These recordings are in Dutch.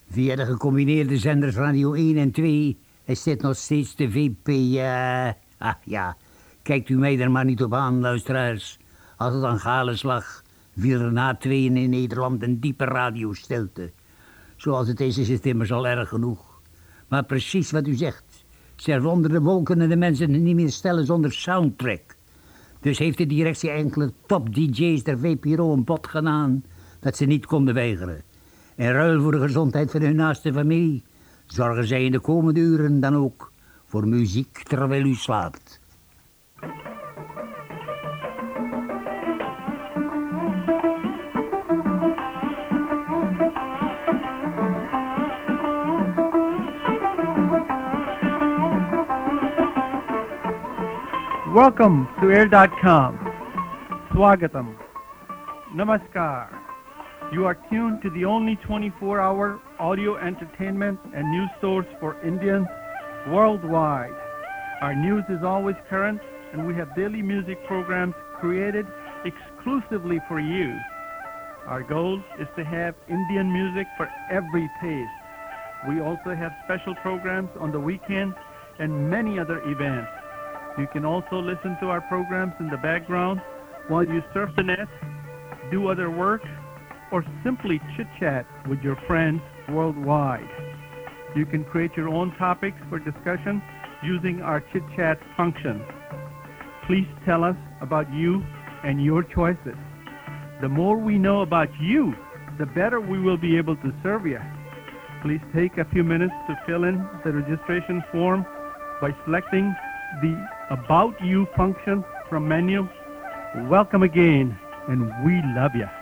Via de gecombineerde zenders Radio 1 en 2 is dit nog steeds de VP... ja, kijkt u mij er maar niet op aan, luisteraars. Als het aan Gales lag, viel er na tweeën in Nederland een diepe radiostilte. Zoals het is het immers al erg genoeg. Maar precies wat u zegt. Onder de wolken kunnen de mensen niet meer stellen zonder soundtrack. Dus heeft de directie enkele top-dj's der VPRO een bod gedaan dat ze niet konden weigeren. In ruil voor de gezondheid van hun naaste familie zorgen zij in de komende uren dan ook voor muziek terwijl u slaapt. Welcome to Air.com. Swagatam. Namaskar. You are tuned to the only 24-hour audio entertainment and news source for Indians worldwide. Our news is always current, and we have daily music programs created exclusively for you. Our goal is to have Indian music for every taste. We also have special programs on the weekends and many other events. You can also listen to our programs in the background while you surf the net, do other work, or simply chit-chat with your friends worldwide. You can create your own topics for discussion using our chit-chat function. Please tell us about you and your choices. The more we know about you, the better we will be able to serve you. Please take a few minutes to fill in the registration form by selecting the About You function from menu. Welcome again, and we love you.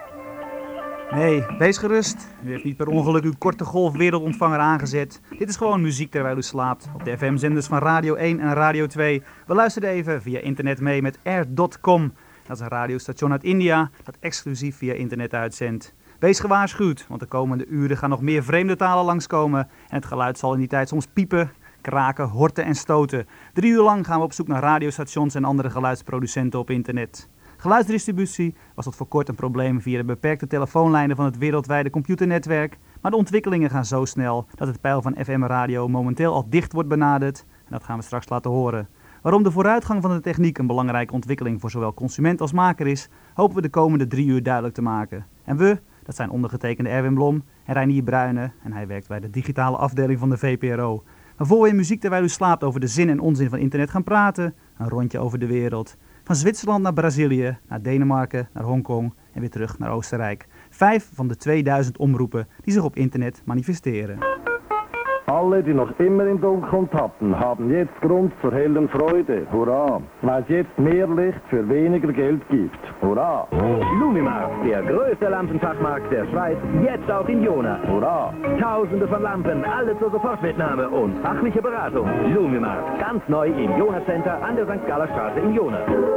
Nee, wees gerust. U heeft niet per ongeluk uw korte golf wereldontvanger aangezet. Dit is gewoon muziek terwijl u slaapt. Op de FM-zenders van Radio 1 en Radio 2. We luisteren even via internet mee met Air.com. Dat is een radiostation uit India dat exclusief via internet uitzendt. Wees gewaarschuwd, want de komende uren gaan nog meer vreemde talen langskomen. En het geluid zal in die tijd soms piepen, kraken, horten en stoten. 3 uur lang gaan we op zoek naar radiostations en andere geluidsproducenten op internet. Geluidsdistributie was tot voor kort een probleem via de beperkte telefoonlijnen van het wereldwijde computernetwerk. Maar de ontwikkelingen gaan zo snel dat het pijl van FM-radio momenteel al dicht wordt benaderd. En dat gaan we straks laten horen. Waarom de vooruitgang van de techniek een belangrijke ontwikkeling voor zowel consument als maker is, hopen we de komende 3 uur duidelijk te maken. En we, dat zijn ondergetekende Erwin Blom en Reinier Bruyne, en hij werkt bij de digitale afdeling van de VPRO. Maar voor we in muziek terwijl u slaapt over de zin en onzin van internet gaan praten, een rondje over de wereld. Van Zwitserland naar Brazilië, naar Denemarken, naar Hongkong en weer terug naar Oostenrijk. 5 van de 2000 omroepen die zich op internet manifesteren. Alle, die noch immer im Dunkeln tappen, haben jetzt Grund zur hellen Freude. Hurra! Weil es jetzt mehr Licht für weniger Geld gibt. Hurra! Lumimarkt, der größte Lampenfachmarkt der Schweiz, jetzt auch in Jona. Hurra! Tausende von Lampen, alle zur Sofortmitnahme und fachliche Beratung. Lumimarkt, ganz neu im Jona Center an der St. Galler Straße in Jona.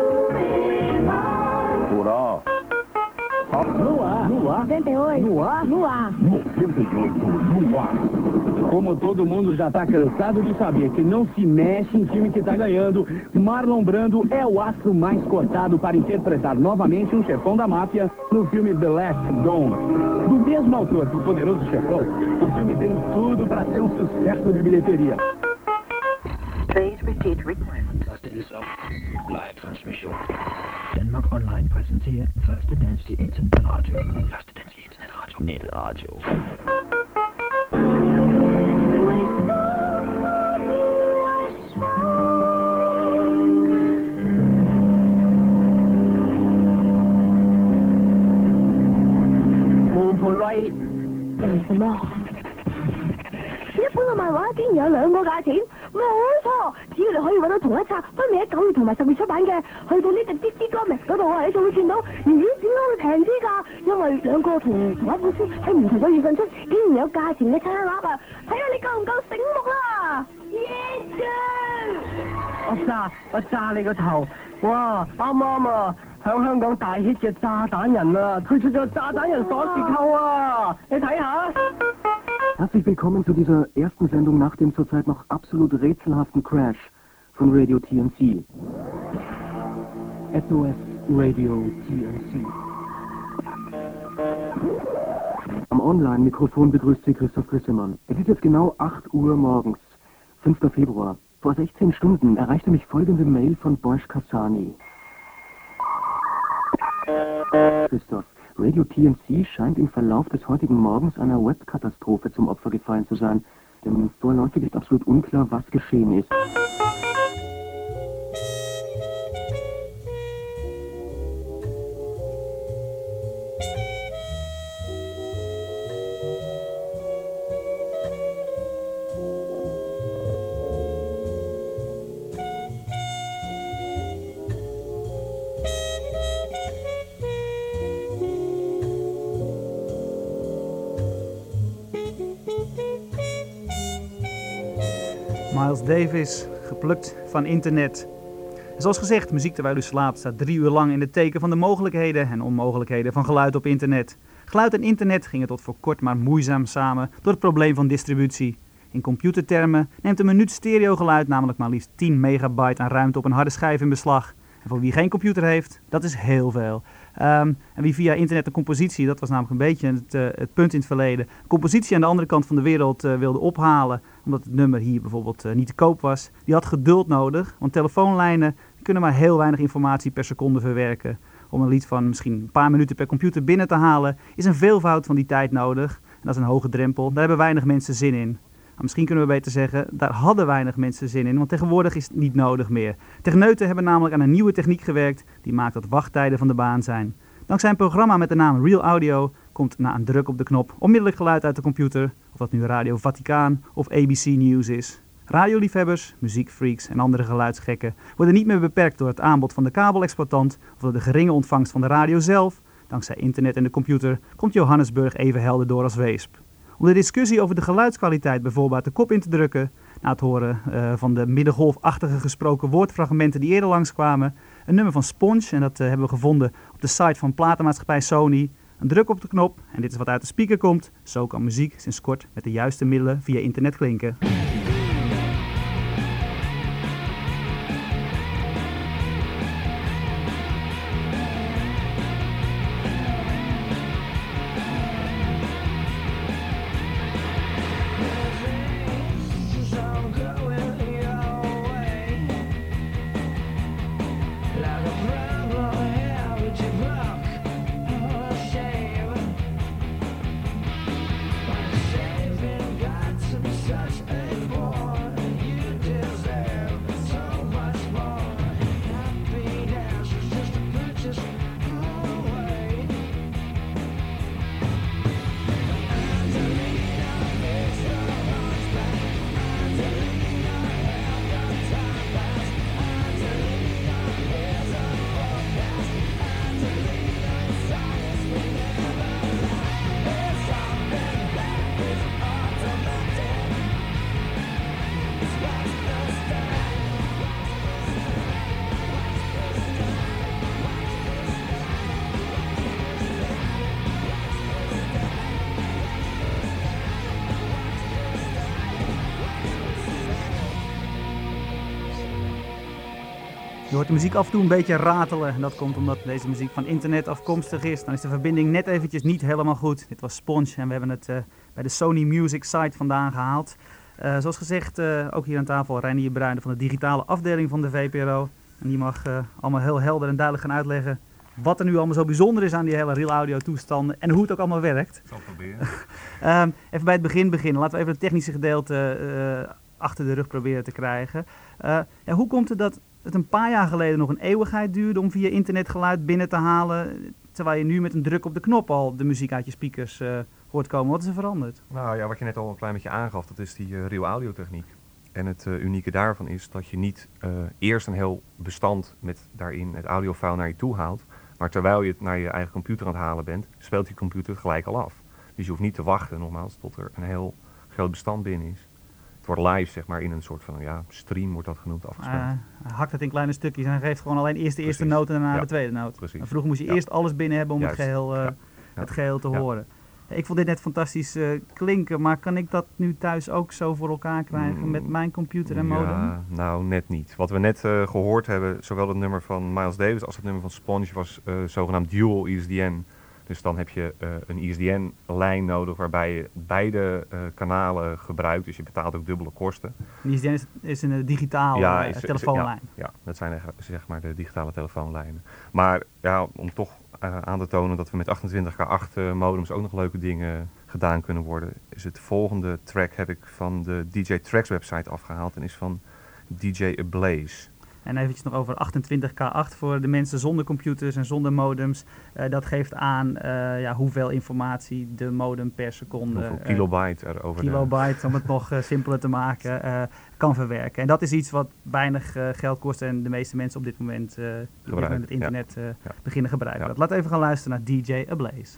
Hurra! No ar, 78, no ar, 98, no ar. Como todo mundo já tá cansado de saber que não se mexe em time que tá ganhando, Marlon Brando é o astro mais cotado para interpretar novamente um chefão da máfia no filme The Last Dome. Do mesmo autor do Poderoso Chefão, o filme tem tudo para ser um sucesso de bilheteria. Please repeat request. Dit is ook live transmission. Denmark Online presenteert Første Danske Internetradio. Første Danske Internetradio. Netradio. 一般嘅漫畫竟然有兩個價錢，冇錯！只要你可以揾到同一冊分別喺9月同埋10月出版嘅，去到呢隻啲歌名嗰度啊，你就會見到，咦？點解會平啲㗎？因為兩個同一本書喺唔同嘅月份出，竟然有價錢嘅差額啊！睇下你夠唔夠醒目啦！ 我炸你個頭！哇，啱啊！響香港大 hit 嘅炸彈人啊，推出咗炸彈人鎖匙扣啊！你睇下。 Herzlich willkommen zu dieser ersten Sendung nach dem zurzeit noch absolut rätselhaften Crash von Radio TNC. SOS Radio TNC. Am Online-Mikrofon begrüßt Sie Christoph Grissemann. Es ist jetzt genau 8 Uhr morgens, 5. Februar. Vor 16 Stunden erreichte mich folgende Mail von Bosch Kassani. Christoph, Radio TNC scheint im Verlauf des heutigen Morgens einer Webkatastrophe zum Opfer gefallen zu sein. Denn vorläufig ist absolut unklar, was geschehen ist. Miles Davis, geplukt van internet. En zoals gezegd, muziek terwijl u slaapt staat 3 uur lang in het teken van de mogelijkheden en onmogelijkheden van geluid op internet. Geluid en internet gingen tot voor kort maar moeizaam samen door het probleem van distributie. In computertermen neemt een minuut stereogeluid namelijk maar liefst 10 megabyte aan ruimte op een harde schijf in beslag. En voor wie geen computer heeft, dat is heel veel. En wie via internet een compositie, dat was namelijk een beetje het punt in het verleden, compositie aan de andere kant van de wereld wilde ophalen, omdat het nummer hier bijvoorbeeld niet te koop was, die had geduld nodig, want telefoonlijnen kunnen maar heel weinig informatie per seconde verwerken. Om een lied van misschien een paar minuten per computer binnen te halen, is een veelvoud van die tijd nodig. En dat is een hoge drempel, daar hebben weinig mensen zin in. Maar misschien kunnen we beter zeggen, daar hadden weinig mensen zin in, want tegenwoordig is het niet nodig meer. Techneuten hebben namelijk aan een nieuwe techniek gewerkt, die maakt dat wachttijden van de baan zijn. Dankzij een programma met de naam Real Audio komt na een druk op de knop onmiddellijk geluid uit de computer, of dat nu Radio Vaticaan of ABC News is. Radioliefhebbers, muziekfreaks en andere geluidsgekken worden niet meer beperkt door het aanbod van de kabelexploitant of door de geringe ontvangst van de radio zelf. Dankzij internet en de computer komt Johannesburg even helder door als Weesp. Om de discussie over de geluidskwaliteit bijvoorbeeld de kop in te drukken, na het horen van de middengolfachtige gesproken woordfragmenten die eerder langskwamen, een nummer van Sponge, en dat hebben we gevonden op de site van platenmaatschappij Sony. Een druk op de knop en dit is wat uit de speaker komt. Zo kan muziek sinds kort met de juiste middelen via internet klinken. Je hoort de muziek af en toe een beetje ratelen en dat komt omdat deze muziek van internet afkomstig is. Dan is de verbinding net eventjes niet helemaal goed. Dit was Sponge en we hebben het bij de Sony Music site vandaan gehaald. Zoals gezegd, ook hier aan tafel Reinier Bruijnen van de digitale afdeling van de VPRO. En die mag allemaal heel helder en duidelijk gaan uitleggen wat er nu allemaal zo bijzonder is aan die hele Real Audio toestanden en hoe het ook allemaal werkt. Ik zal het proberen. Even bij het begin beginnen. Laten we even het technische gedeelte achter de rug proberen te krijgen. Hoe komt het dat het een paar jaar geleden nog een eeuwigheid duurde om via internet geluid binnen te halen, terwijl je nu met een druk op de knop al de muziek uit je speakers hoort komen? Wat is er veranderd? Nou ja, wat je net al een klein beetje aangaf, dat is die Real Audio techniek. En het unieke daarvan is dat je niet eerst een heel bestand met daarin het audiofile naar je toe haalt, maar terwijl je het naar je eigen computer aan het halen bent, speelt die computer het gelijk al af. Dus je hoeft niet te wachten, nogmaals, tot er een heel groot bestand binnen is. Het wordt live, zeg maar, in een soort van stream wordt dat genoemd, afgespeeld. Hakt het in kleine stukjes en geeft gewoon alleen eerst de eerste noot en daarna de tweede noot. Precies. En vroeger moest je eerst alles binnen hebben om het geheel te horen. Ik vond dit net fantastisch klinken, maar kan ik dat nu thuis ook zo voor elkaar krijgen met mijn computer en modem? Ja, nou net niet. Wat we net gehoord hebben, zowel het nummer van Miles Davis als het nummer van Sponge was zogenaamd dual ISDN. Dus dan heb je een ISDN-lijn nodig waarbij je beide kanalen gebruikt. Dus je betaalt ook dubbele kosten. Een ISDN is een digitale telefoonlijn. Ja, dat zijn zeg maar de digitale telefoonlijnen. Maar ja, om toch aan te tonen dat we met 28K8 modems ook nog leuke dingen gedaan kunnen worden, is het volgende track heb ik van de DJ Tracks website afgehaald en is van DJ Ablaze. En eventjes nog over 28K8 voor de mensen zonder computers en zonder modems. Dat geeft aan hoeveel informatie de modem per seconde... Hoeveel kilobyte er over kilobyte, om het nog simpeler te maken, kan verwerken. En dat is iets wat weinig geld kost en de meeste mensen op dit moment het internet beginnen gebruiken. Ja. Laten we even gaan luisteren naar DJ Ablaze.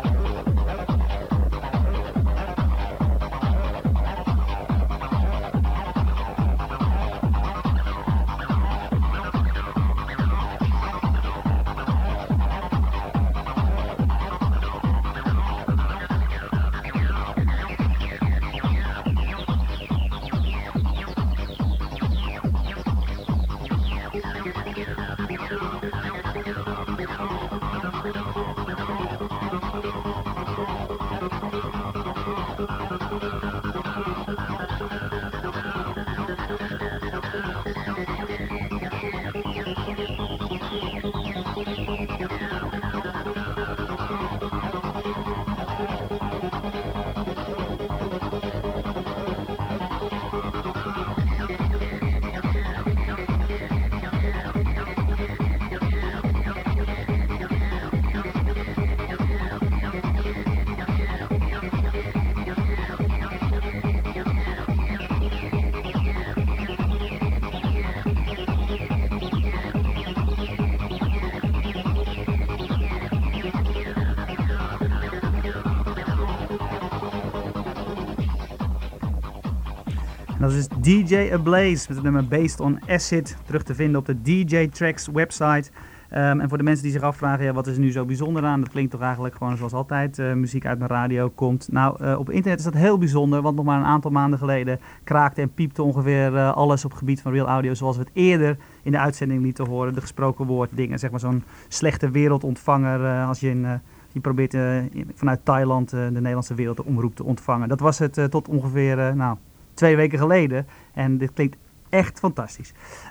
Dat is DJ Ablaze met het nummer Based on Acid, terug te vinden op de DJ Tracks website. En voor de mensen die zich afvragen, wat is er nu zo bijzonder aan? Dat klinkt toch eigenlijk gewoon zoals altijd muziek uit mijn radio komt. Nou, op internet is dat heel bijzonder, want nog maar een aantal maanden geleden kraakte en piepte ongeveer alles op het gebied van real audio, zoals we het eerder in de uitzending lieten horen. De gesproken woord dingen, zeg maar zo'n slechte wereldontvanger als je probeert vanuit Thailand de Nederlandse wereldomroep te ontvangen. Dat was het tot ongeveer 2 weken geleden. En dit klinkt echt fantastisch.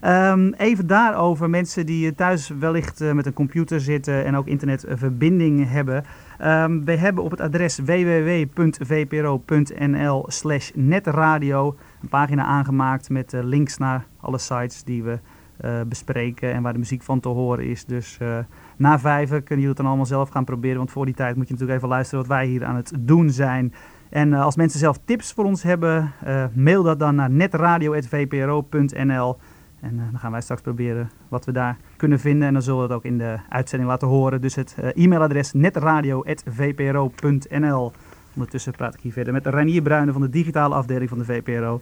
Even daarover, mensen die thuis wellicht met een computer zitten en ook internetverbinding hebben. We hebben op het adres www.vpro.nl/netradio een pagina aangemaakt met links naar alle sites die we bespreken en waar de muziek van te horen is. Dus na 5 kunnen jullie het dan allemaal zelf gaan proberen, want voor die tijd moet je natuurlijk even luisteren wat wij hier aan het doen zijn. En als mensen zelf tips voor ons hebben, mail dat dan naar netradio@vpro.nl. En dan gaan wij straks proberen wat we daar kunnen vinden. En dan zullen we het ook in de uitzending laten horen. Dus het e-mailadres netradio@vpro.nl. Ondertussen praat ik hier verder met Reinier Bruyne van de digitale afdeling van de VPRO.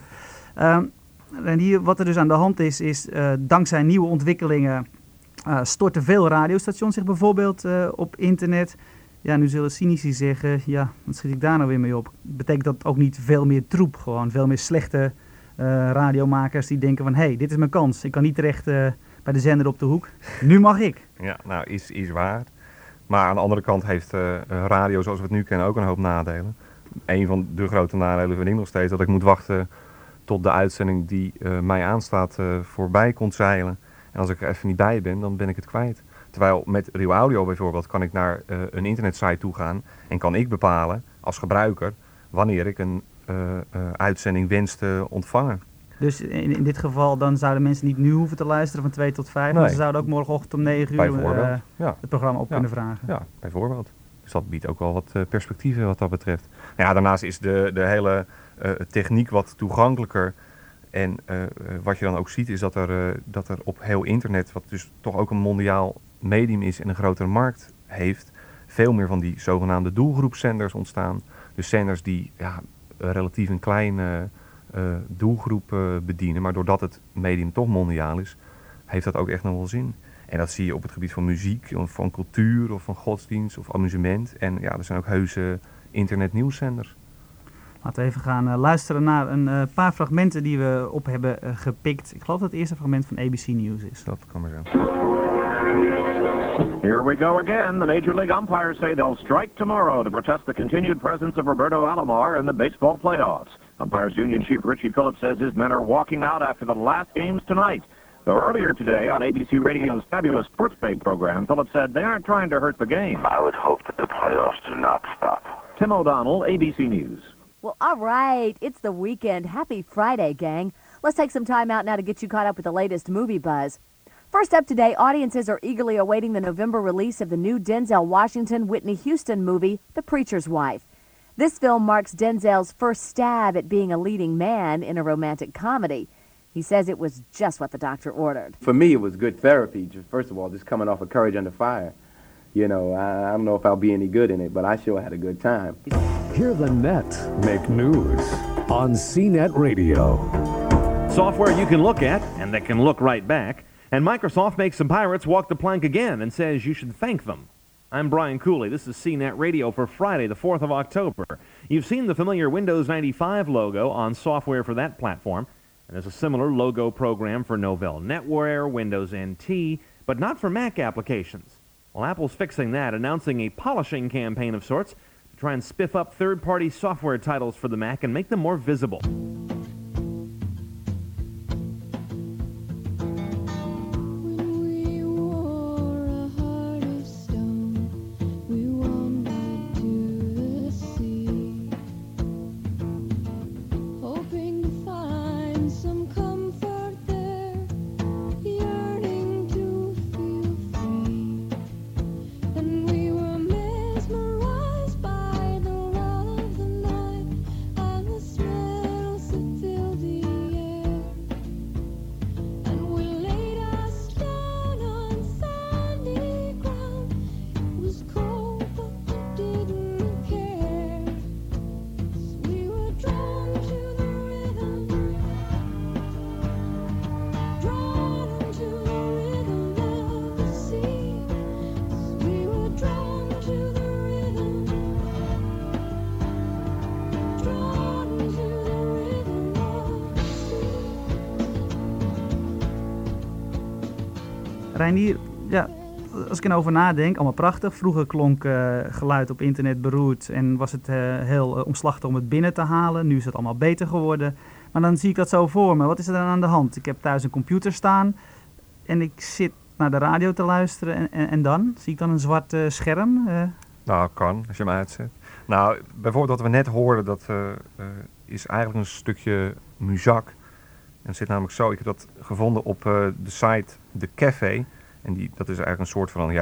Reinier, wat er dus aan de hand is dankzij nieuwe ontwikkelingen storten veel radiostations zich bijvoorbeeld op internet. Ja, nu zullen cynici zeggen, ja, wat schiet ik daar nou weer mee op? Betekent dat ook niet veel meer troep, gewoon veel meer slechte radiomakers die denken van, hé, dit is mijn kans. Ik kan niet terecht bij de zender op de hoek. Nu mag ik. Ja, nou, is waar. Maar aan de andere kant heeft radio zoals we het nu kennen ook een hoop nadelen. Een van de grote nadelen vind ik nog steeds dat ik moet wachten tot de uitzending die mij aanstaat voorbij komt zeilen. En als ik er even niet bij ben, dan ben ik het kwijt. Terwijl met Real Audio bijvoorbeeld kan ik naar een internetsite toe gaan en kan ik bepalen als gebruiker wanneer ik een uitzending wens te ontvangen. Dus in dit geval dan zouden mensen niet nu hoeven te luisteren van 2 tot 5, maar ze zouden ook morgenochtend om 9 uur het programma op kunnen vragen. Ja, bijvoorbeeld. Dus dat biedt ook wel wat perspectieven wat dat betreft. Nou ja, daarnaast is de hele techniek wat toegankelijker. En wat je dan ook ziet is dat er op heel internet, wat dus toch ook een mondiaal medium is en een grotere markt heeft, veel meer van die zogenaamde doelgroepzenders ontstaan. Dus zenders die relatief een kleine doelgroep bedienen, maar doordat het medium toch mondiaal is, heeft dat ook echt nog wel zin. En dat zie je op het gebied van muziek, of van cultuur, of van godsdienst, of amusement. En ja, er zijn ook heuse internetnieuwszenders. Laten we even gaan luisteren naar een paar fragmenten die we op hebben gepikt. Ik geloof dat het eerste fragment van ABC News is. Dat kan maar zo. Here we go again. The Major League umpires say they'll strike tomorrow to protest the continued presence of Roberto Alomar in the baseball playoffs. Umpires Union Chief Richie Phillips says his men are walking out after the last games tonight. Though earlier today on ABC Radio's fabulous Sports Page program, Phillips said they aren't trying to hurt the game. I would hope that the playoffs do not stop. Tim O'Donnell, ABC News. Well, all right. It's the weekend. Happy Friday, gang. Let's take some time out now to get you caught up with the latest movie buzz. First up today, audiences are eagerly awaiting the November release of the new Denzel Washington, Whitney Houston movie, The Preacher's Wife. This film marks Denzel's first stab at being a leading man in a romantic comedy. He says it was just what the doctor ordered. For me, it was good therapy. First of all, just coming off of Courage Under Fire. You know, I don't know if I'll be any good in it, but I sure had a good time. Hear the net make news on CNET Radio. Software you can look at and that can look right back. And Microsoft makes some pirates walk the plank again and says you should thank them. I'm Brian Cooley. This is CNET Radio for Friday, the 4th of October. You've seen the familiar Windows 95 logo on software for that platform. And there's a similar logo program for Novell NetWare, Windows NT, but not for Mac applications. Well, Apple's fixing that, announcing a polishing campaign of sorts to try and spiff up third-party software titles for the Mac and make them more visible. Reinier, ja, als ik erover nadenk, allemaal prachtig. Vroeger klonk geluid op internet beroerd en was het heel omslachtig om het binnen te halen. Nu is het allemaal beter geworden. Maar dan zie ik dat zo voor me. Wat is er dan aan de hand? Ik heb thuis een computer staan en ik zit naar de radio te luisteren en dan? Zie ik dan een zwart scherm? Nou, kan, als je hem uitzet. Nou, bijvoorbeeld wat we net hoorden, dat is eigenlijk een stukje muzak. En het zit namelijk zo, ik heb dat gevonden op de site De Café. En dat is eigenlijk een soort van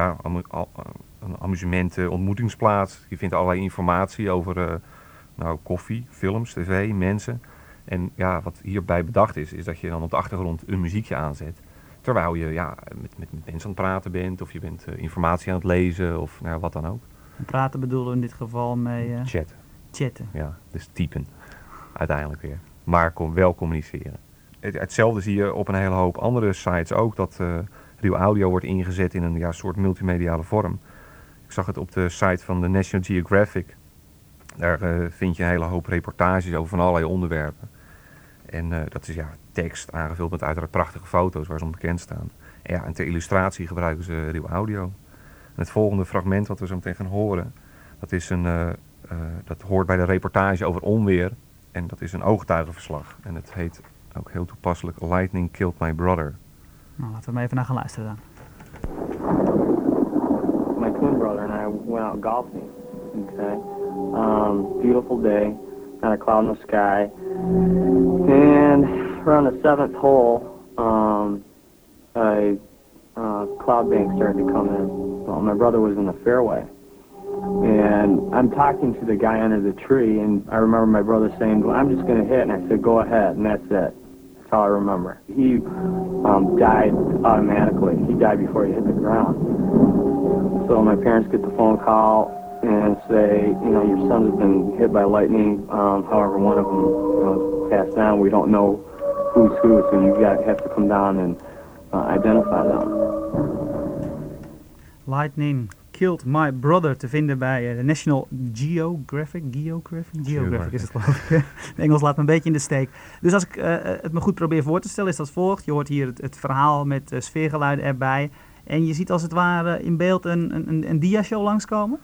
een amusement ontmoetingsplaats. Je vindt allerlei informatie over koffie, films, tv, mensen. En ja, wat hierbij bedacht is dat je dan op de achtergrond een muziekje aanzet. Terwijl je met mensen aan het praten bent, of je bent informatie aan het lezen, of wat dan ook. En praten bedoelen we in dit geval mee... Chatten. Ja, dus typen. Uiteindelijk weer. Maar wel communiceren. Hetzelfde zie je op een hele hoop andere sites ook, dat Real Audio wordt ingezet in een soort multimediale vorm. Ik zag het op de site van de National Geographic. Daar vind je een hele hoop reportages over van allerlei onderwerpen. En dat is tekst aangevuld met uiteraard prachtige foto's waar ze om bekend staan. En ter illustratie gebruiken ze Real Audio. En het volgende fragment wat we zo meteen gaan horen, dat is dat hoort bij de reportage over onweer. En dat is een ooggetuigenverslag. En het heet ook heel toepasselijk Lightning Killed My Brother. Nou, laten we maar even naar gaan luisteren dan. My twin brother and I went out golfing. Okay. Beautiful day, not a cloud in the sky. And around the 7th hole, a cloud bank started to come in. Well, my brother was in the fairway. And I'm talking to the guy under the tree, and I remember my brother saying, well, I'm just going to hit. And I said, go ahead, and that's it. That's how I remember. He died automatically. He died before he hit the ground. So my parents get the phone call and say, your son has been hit by lightning. However, one of them passed on. We don't know who's who, so you have to come down and identify them. Lightning Killed My Brother te vinden bij de National Geographic. Geographic is het, geloof ik. Het Engels laat me een beetje in de steek. Dus als ik het me goed probeer voor te stellen, is dat volgt. Je hoort hier het verhaal met sfeergeluiden erbij. En je ziet als het ware in beeld een dia-show langskomen?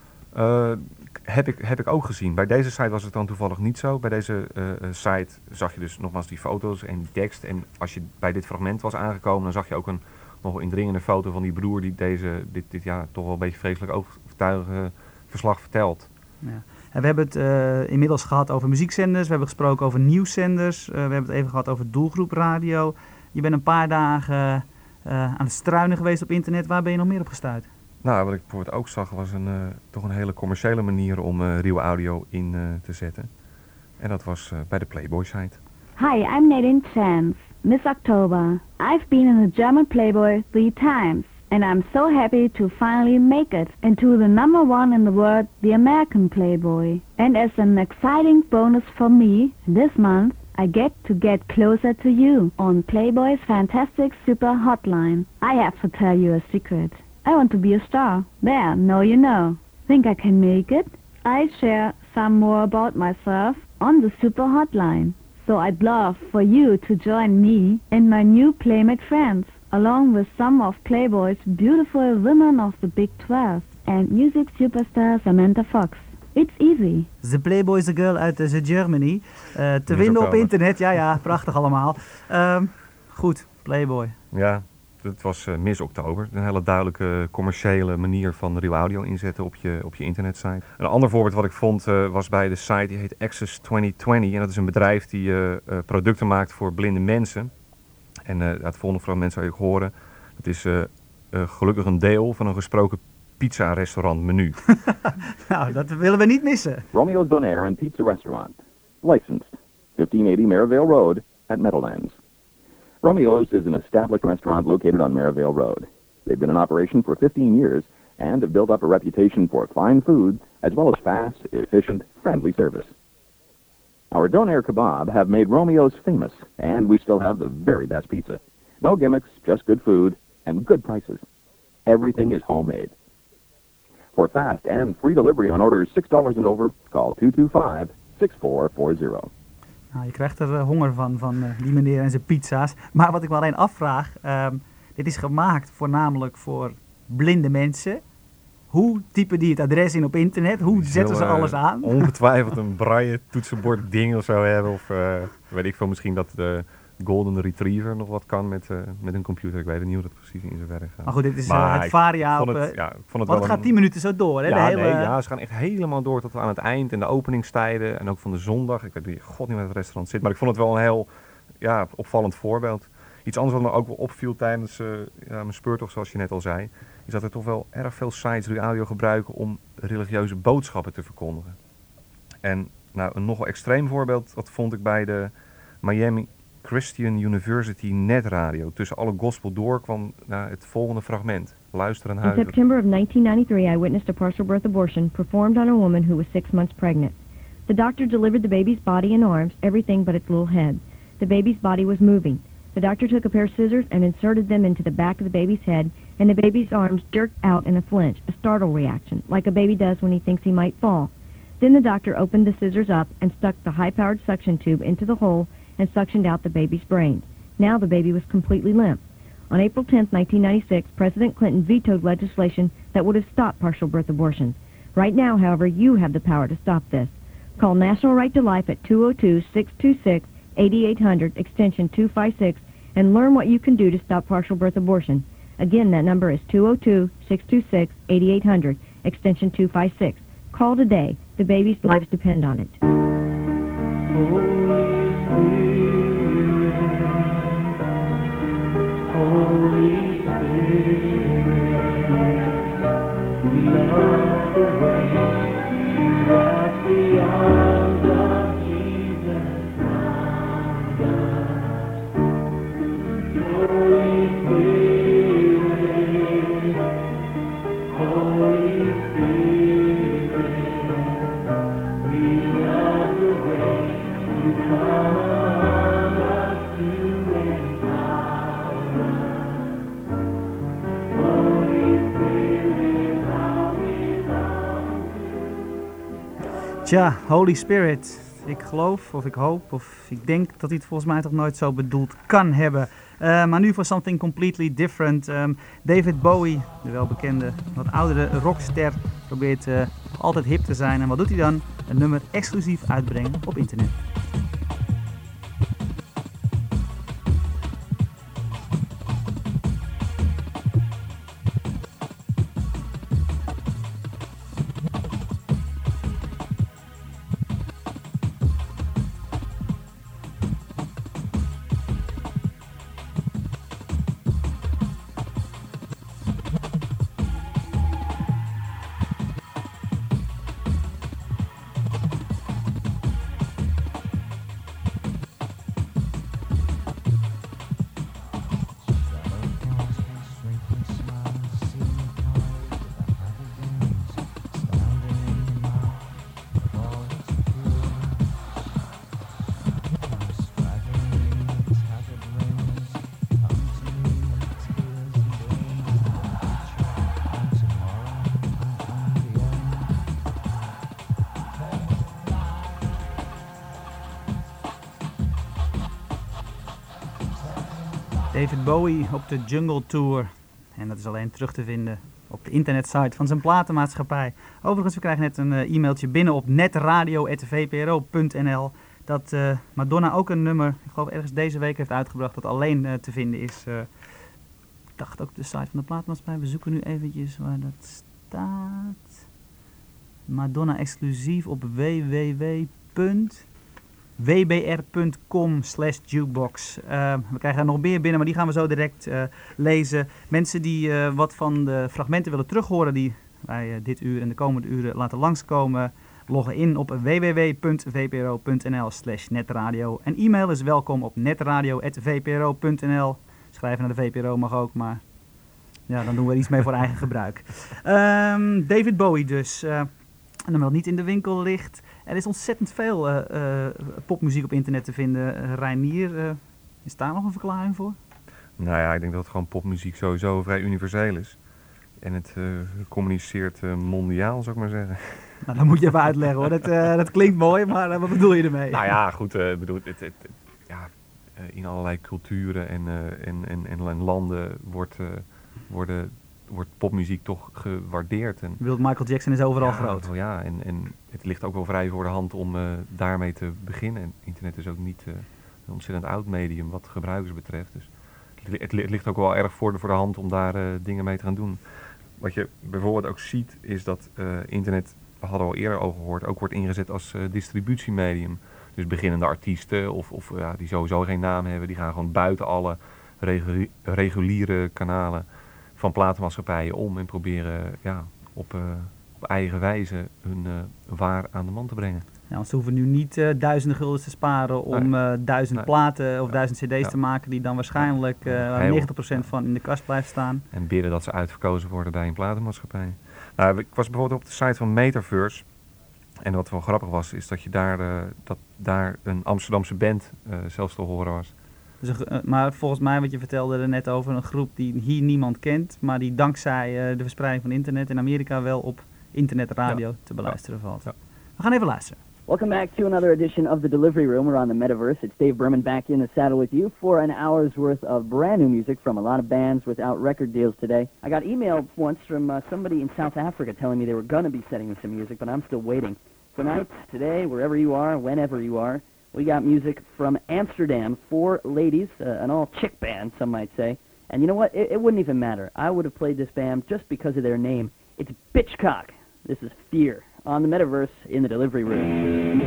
Heb ik ook gezien. Bij deze site was het dan toevallig niet zo. Bij deze site zag je dus nogmaals die foto's en die tekst. En als je bij dit fragment was aangekomen, dan zag je ook een nog indringende foto van die broer die dit toch wel een beetje vreselijk overtuigende verslag vertelt. Ja. En we hebben het inmiddels gehad over muziekzenders, we hebben gesproken over nieuwszenders, we hebben het even gehad over doelgroepradio. Je bent een paar dagen aan het struinen geweest op internet. Waar ben je nog meer op gestuurd? Nou, wat ik bijvoorbeeld ook zag was toch een hele commerciële manier om Real Audio in te zetten. En dat was bij de Playboy site. Hi, I'm Nadine Chance, Miss October. I've been in the German Playboy 3 times, and I'm so happy to finally make it into the #1 in the world, the American Playboy. And as an exciting bonus for me, this month I get closer to you on Playboy's fantastic super hotline. I have to tell you a secret. I want to be a star. There, now you know. Think I can make it? I share some more about myself on the super hotline. So I'd love for you to join me and my new Playmate friends, along with some of Playboy's beautiful women of the Big 12 and music superstar Samantha Fox. It's easy. The Playboy is a girl uit The Germany. Te vinden op internet. Ja, prachtig allemaal. Goed, Playboy. Ja, het was Miss Oktober. Een hele duidelijke commerciële manier van Real Audio inzetten op je internetsite. Een ander voorbeeld wat ik vond was bij de site die heet Access 2020. En dat is een bedrijf die producten maakt voor blinde mensen. En het volgende fragment zou je ook horen. Het is gelukkig een deel van een gesproken pizza-restaurant menu. Nou, dat willen we niet missen. Romeo's Donair and Pizza Restaurant. Licensed. 1580 Merivale Road at Meadowlands. Romeo's is an established restaurant located on Merivale Road. They've been in operation for 15 years and have built up a reputation for fine food as well as fast, efficient, friendly service. Our Donair kebab have made Romeo's famous, and we still have the very best pizza. No gimmicks, just good food and good prices. Everything is homemade. For fast and free delivery on orders $6 and over, call 225-6440. Nou, je krijgt er honger van die meneer en zijn pizza's. Maar wat ik me alleen afvraag, dit is gemaakt voornamelijk voor blinde mensen. Hoe typen die het adres in op internet? Hoe zetten ze alles aan? Ongetwijfeld een braille toetsenbord ding of zo hebben. Of weet ik veel, misschien dat de Golden Retriever nog wat kan met een computer. Ik weet niet hoe dat precies in zijn werk gaat. Maar goed, dit is het varia op... Want het gaat 10 minuten zo door, hè? Ja, ze gaan echt helemaal door tot aan het eind. En de openingstijden en ook van de zondag. Ik weet niet waar het restaurant zit. Maar ik vond het wel een heel opvallend voorbeeld. Iets anders wat me ook wel opviel tijdens mijn speurtocht, zoals je net al zei, is dat er toch wel erg veel sites Real Audio gebruiken om religieuze boodschappen te verkondigen. En nou, een nogal extreem voorbeeld, dat vond ik bij de Miami Christian University netradio. Tussen alle gospel door kwam het volgende fragment. Luister en huiver. In September of 1993, I witnessed a partial birth abortion performed on a woman who was 6 months pregnant. The doctor delivered the baby's body and arms, everything but its little head. The baby's body was moving. The doctor took a pair of scissors and inserted them into the back of the baby's head, and the baby's arms jerked out in a flinch, a startle reaction, like a baby does when he thinks he might fall. Then the doctor opened the scissors up and stuck the high-powered suction tube into the hole and suctioned out the baby's brain. Now the baby was completely limp. On April 10, 1996, President Clinton vetoed legislation that would have stopped partial birth abortions. Right now, however, you have the power to stop this. Call National Right to Life at 202-626-8800, extension 256, and learn what you can do to stop partial birth abortion. Again, that number is 202-626-8800, extension 256. Call today. The baby's lives depend on it. Holy Spirit, we love the way that the arms of Jesus round us. Holy Spirit, Holy Spirit, we love the way you come among us to empower us. Tja, Holy Spirit. Ik geloof, of ik hoop, of ik denk dat hij het volgens mij toch nooit zo bedoeld kan hebben. Maar nu voor something completely different. David Bowie, de welbekende, wat oudere rockster, probeert altijd hip te zijn. En wat doet hij dan? Een nummer exclusief uitbrengen op internet. David Bowie op de Jungle Tour. En dat is alleen terug te vinden op de internetsite van zijn platenmaatschappij. Overigens, we krijgen net een e-mailtje binnen op netradio@vpro.nl dat Madonna ook een nummer, ik geloof ergens deze week heeft uitgebracht, dat alleen te vinden is. Ik dacht ook de site van de platenmaatschappij. We zoeken nu eventjes waar dat staat. Madonna exclusief op www.wbr.com/jukebox. We krijgen er nog meer binnen, maar die gaan we zo direct lezen. Mensen die wat van de fragmenten willen terughoren die wij dit uur en de komende uren laten langskomen, loggen in op www.vpro.nl/netradio. En e-mail is welkom op netradio@vpro.nl. Schrijven naar de VPRO mag ook, maar ja, dan doen we er iets mee voor eigen gebruik. David Bowie dus. Een nummer dat niet in de winkel ligt. Er is ontzettend veel popmuziek op internet te vinden. Reinier, is daar nog een verklaring voor? Nou ja, ik denk dat gewoon popmuziek sowieso vrij universeel is. En het communiceert mondiaal, zou ik maar zeggen. Nou, dat moet je even uitleggen hoor. Dat klinkt mooi, maar wat bedoel je ermee? Nou ja, goed. Bedoel, in allerlei culturen en landen wordt popmuziek toch gewaardeerd. En, Michael Jackson is overal groot. Ja, en het ligt ook wel vrij voor de hand om daarmee te beginnen. En internet is ook niet een ontzettend oud medium wat gebruikers betreft. Dus het ligt ook wel erg voor de hand om daar dingen mee te gaan doen. Wat je bijvoorbeeld ook ziet is dat internet, we hadden al eerder over gehoord, ook wordt ingezet als distributiemedium. Dus beginnende artiesten of die sowieso geen naam hebben, die gaan gewoon buiten alle reguliere kanalen van platenmaatschappijen om en proberen op eigen wijze hun waar aan de man te brengen. Ja, want ze hoeven nu niet duizenden guldens te sparen om 1000 platen of 1000 cd's te maken die dan waarschijnlijk 90% van in de kast blijft staan. En bidden dat ze uitverkozen worden bij een platenmaatschappij. Nou, ik was bijvoorbeeld op de site van Metaverse. En wat wel grappig was, is dat je daar een Amsterdamse band zelfs te horen was. Dus maar volgens mij, wat je vertelde er net over, een groep die hier niemand kent, maar die dankzij de verspreiding van internet in Amerika wel op internetradio te beluisteren valt. Ja. We gaan even luisteren. Welcome back to another edition of The Delivery Room. We're on the Metaverse. It's Dave Berman back in the saddle with you for an hour's worth of brand new music from a lot of bands without record deals today. I got email once from somebody in South Africa telling me they were going to be sending me some music, but I'm still waiting. Tonight, today, wherever you are, whenever you are, we got music from Amsterdam, 4 ladies, an all-chick band, some might say. And you know what? It wouldn't even matter. I would have played this band just because of their name. It's Bitchcock. This is Fear on the Metaverse in the Delivery Room.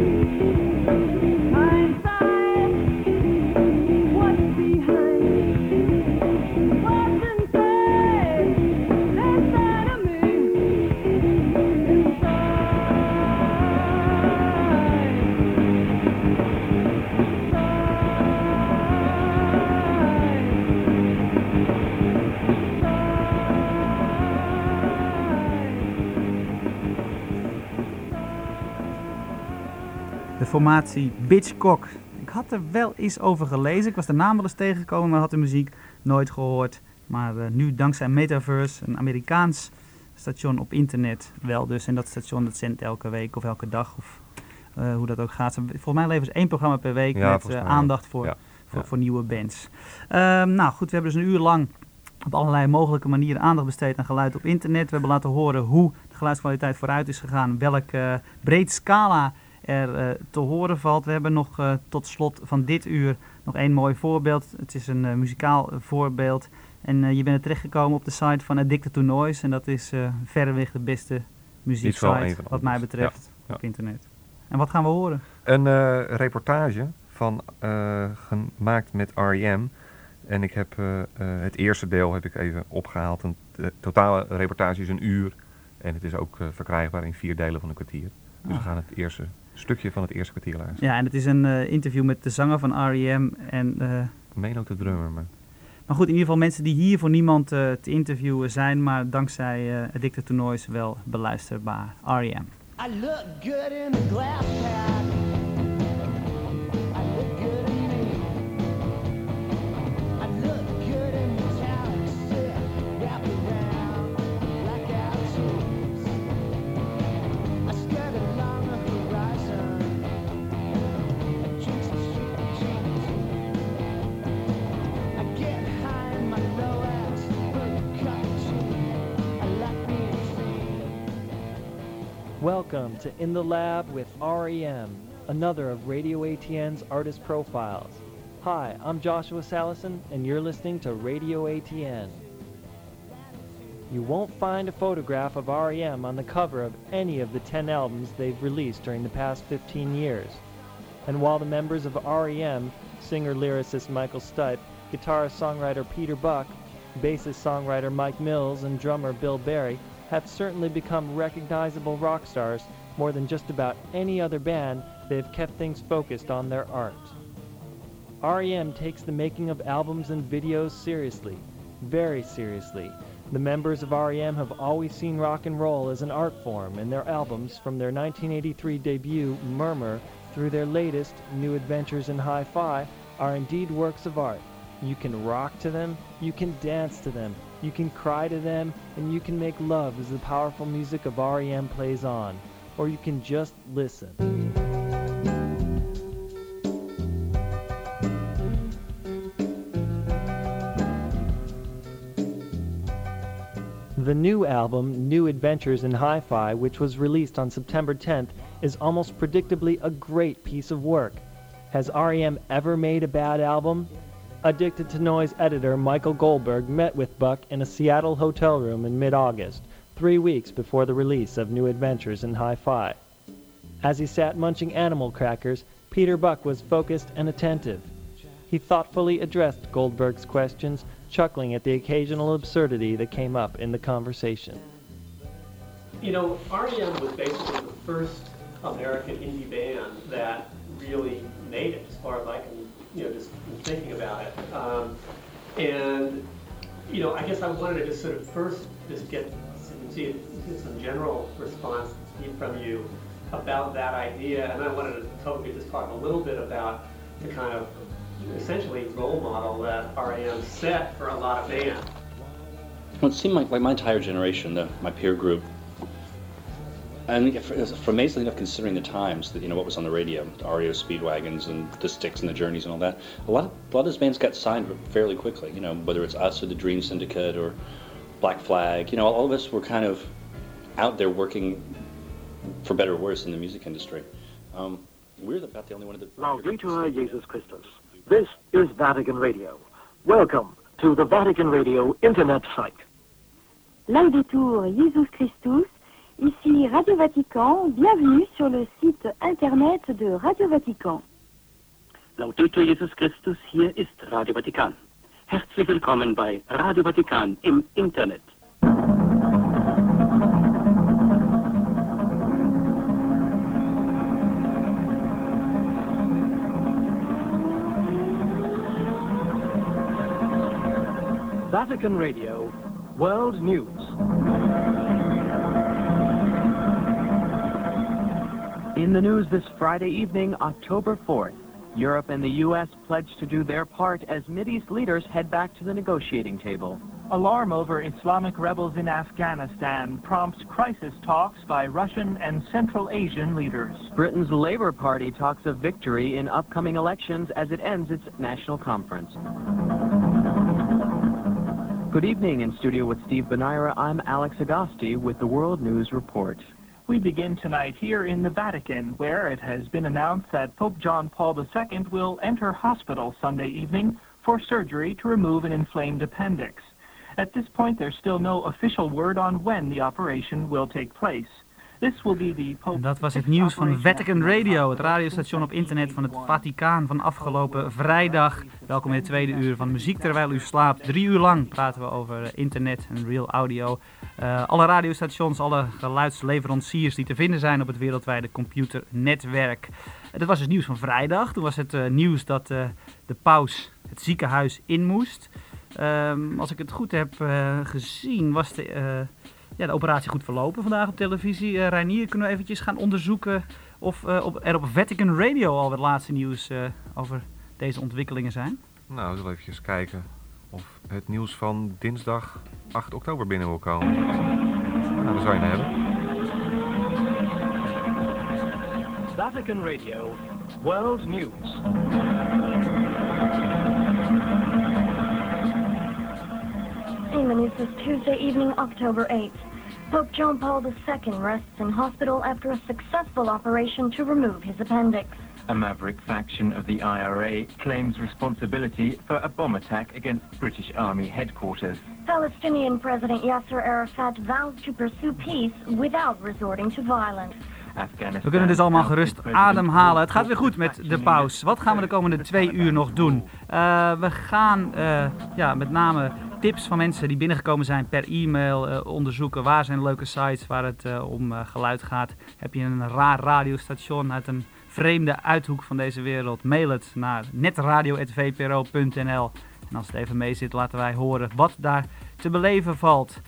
What's behind de formatie Bitchcock. Ik had er wel eens over gelezen. Ik was de naam wel eens tegengekomen, maar had de muziek nooit gehoord. Maar nu dankzij Metaverse, een Amerikaans station op internet, wel dus. En dat station dat zendt elke week of elke dag of hoe dat ook gaat. Volgens mij leveren ze 1 programma per week met aandacht voor nieuwe bands. Nou goed, we hebben dus een uur lang op allerlei mogelijke manieren aandacht besteed aan geluid op internet. We hebben laten horen hoe de geluidskwaliteit vooruit is gegaan, welk breed scala er te horen valt. We hebben nog tot slot van dit uur nog 1 mooi voorbeeld. Het is een muzikaal voorbeeld. En je bent terechtgekomen op de site van Addicted to Noise. En dat is verreweg de beste muzieksite wat mij betreft op internet. En wat gaan we horen? Een reportage gemaakt met R.E.M. En ik heb het eerste deel heb ik even opgehaald. De totale reportage is 1 uur. En het is ook verkrijgbaar in 4 delen van een kwartier. Dus we gaan het eerste stukje van het eerste kwartier luisteren. Ja, en het is een interview met de zanger van R.E.M. en ik meen ook de drummer, maar goed, in ieder geval mensen die hier voor niemand te interviewen zijn, maar dankzij Addicted to Noise wel beluisterbaar. R.E.M. I look good in the glass pack. I look good in me. I look good in metallic silk wrapped around blackout tubes. I skirt along the horizon. I drink some street jeans. I get high in my low ass, but I like being free. Welcome to In the Lab with R.E.M., another of Radio ATN's Artist Profiles. Hi, I'm Joshua Salison, and you're listening to Radio ATN. You won't find a photograph of R.E.M. on the cover of any of the 10 albums they've released during the past 15 years. And while the members of R.E.M., singer-lyricist Michael Stipe, guitarist-songwriter Peter Buck, bassist-songwriter Mike Mills, and drummer Bill Berry have certainly become recognizable rock stars, more than just about any other band, they've kept things focused on their art. R.E.M. takes the making of albums and videos seriously, very seriously. The members of R.E.M. have always seen rock and roll as an art form, and their albums, from their 1983 debut, Murmur, through their latest, New Adventures in Hi-Fi, are indeed works of art. You can rock to them, you can dance to them, you can cry to them, and you can make love as the powerful music of R.E.M. plays on. Or you can just listen. The new album, New Adventures in Hi-Fi, which was released on September 10th, is almost predictably a great piece of work. Has R.E.M. ever made a bad album? Addicted to Noise editor Michael Goldberg met with Buck in a Seattle hotel room in mid-August, 3 weeks before the release of New Adventures in Hi-Fi. As he sat munching animal crackers, Peter Buck was focused and attentive. He thoughtfully addressed Goldberg's questions, chuckling at the occasional absurdity that came up in the conversation. You know, R.E.M. was basically the first American indie band that really made it, as far as I can, just thinking about it. And, I guess I wanted to just sort of first just get some general response from you about that idea, and I wanted to hope we could just talk a little bit about the kind of essentially role model that R.E.M. set for a lot of bands. Well, it seemed like my entire generation, my peer group, and for amazingly enough, considering the times that what was on the radio, the REO Speedwagons and the Styx and the Journeys and all that, a lot of those bands got signed fairly quickly. Whether it's us or the Dream Syndicate or Black Flag, all of us were kind of out there working, for better or worse, in the music industry. We're about the only one of the... Laudetur Jesus Christus. This is Vatican Radio. Welcome to the Vatican Radio Internet site. Laudetur Jesus Christus. Ici Radio Vatican, bienvenue sur le site internet de Radio Vatican. Laudetur Jesus Christus, hier ist Radio Vatikan. Herzlich willkommen bei Radio Vatikan im Internet. Vatican Radio, World News. In the news this Friday evening, October 4th, Europe and the U.S. pledged to do their part as Mideast leaders head back to the negotiating table. Alarm over Islamic rebels in Afghanistan prompts crisis talks by Russian and Central Asian leaders. Britain's Labour Party talks of victory in upcoming elections as it ends its national conference. Good evening. In studio with Steve Benaira, I'm Alex Agosti with the World News Report. We begin tonight here in the Vatican, where it has been announced that Pope John Paul II will enter hospital Sunday evening for surgery to remove an inflamed appendix. At this point, there's still no official word on when the operation will take place. This will be the Pope's. Dat was het nieuws van Vatican Radio, het radiostation op internet van het Vaticaan van afgelopen vrijdag. Welkom in het tweede uur van Muziek Terwijl U Slaapt. 3 uur lang praten we over internet en real audio. Alle radiostations, alle geluidsleveranciers die te vinden zijn op het wereldwijde computernetwerk. Dat was het nieuws van vrijdag. Toen was het nieuws dat de paus het ziekenhuis in moest. Als ik het goed heb gezien, was de operatie goed verlopen vandaag op televisie. Reinier, kunnen we eventjes gaan onderzoeken of er op Vatican Radio al het laatste nieuws over deze ontwikkelingen zijn? Nou, we zullen even kijken of het nieuws van dinsdag 8 oktober binnen wil komen. Nou, daar zou je het hebben. Vatican Radio, World News. In the news this Tuesday evening, October 8th. Pope John Paul II rests in hospital after a successful operation to remove his appendix. A maverick faction of the IRA claims responsibility for a bomb attack against British Army headquarters. Palestinian President Yasser Arafat vows to pursue peace without resorting to violence. We kunnen dus allemaal gerust ademhalen. Het gaat weer goed met de paus. Wat gaan we de komende 2 uur nog doen? We gaan met name tips van mensen die binnengekomen zijn per e-mail onderzoeken. Waar zijn leuke sites waar het om geluid gaat? Heb je een raar radiostation uit een vreemde uithoek van deze wereld? Mail het naar netradio@vpro.nl. En als het even mee zit, laten wij horen wat daar te beleven valt.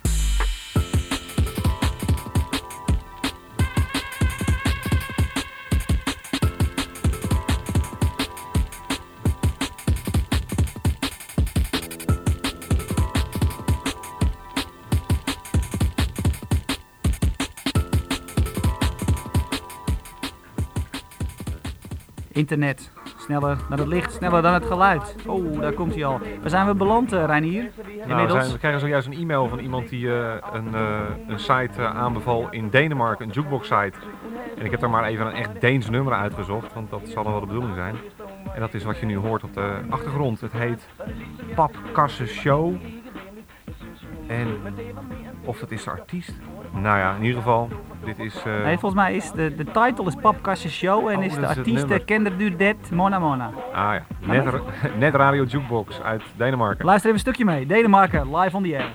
Internet. Sneller dan het licht, sneller dan het geluid. Oh, daar komt hij al. Waar zijn we beland, Reinier? Nou, we krijgen zojuist een e-mail van iemand die een site aanbeval in Denemarken, een jukebox site. En ik heb daar maar even een echt Deens nummer uitgezocht, want dat zal dan wel de bedoeling zijn. En dat is wat je nu hoort op de achtergrond. Het heet Papkasse Show. En of dat is de artiest? Nou ja, in ieder geval, dit is... Nee, volgens mij is de title is Papkasse Show en is de artiest Kender du det Mona Mona. Ah ja, Net Radio Jukebox uit Denemarken. Luister even een stukje mee. Denemarken, live on the air.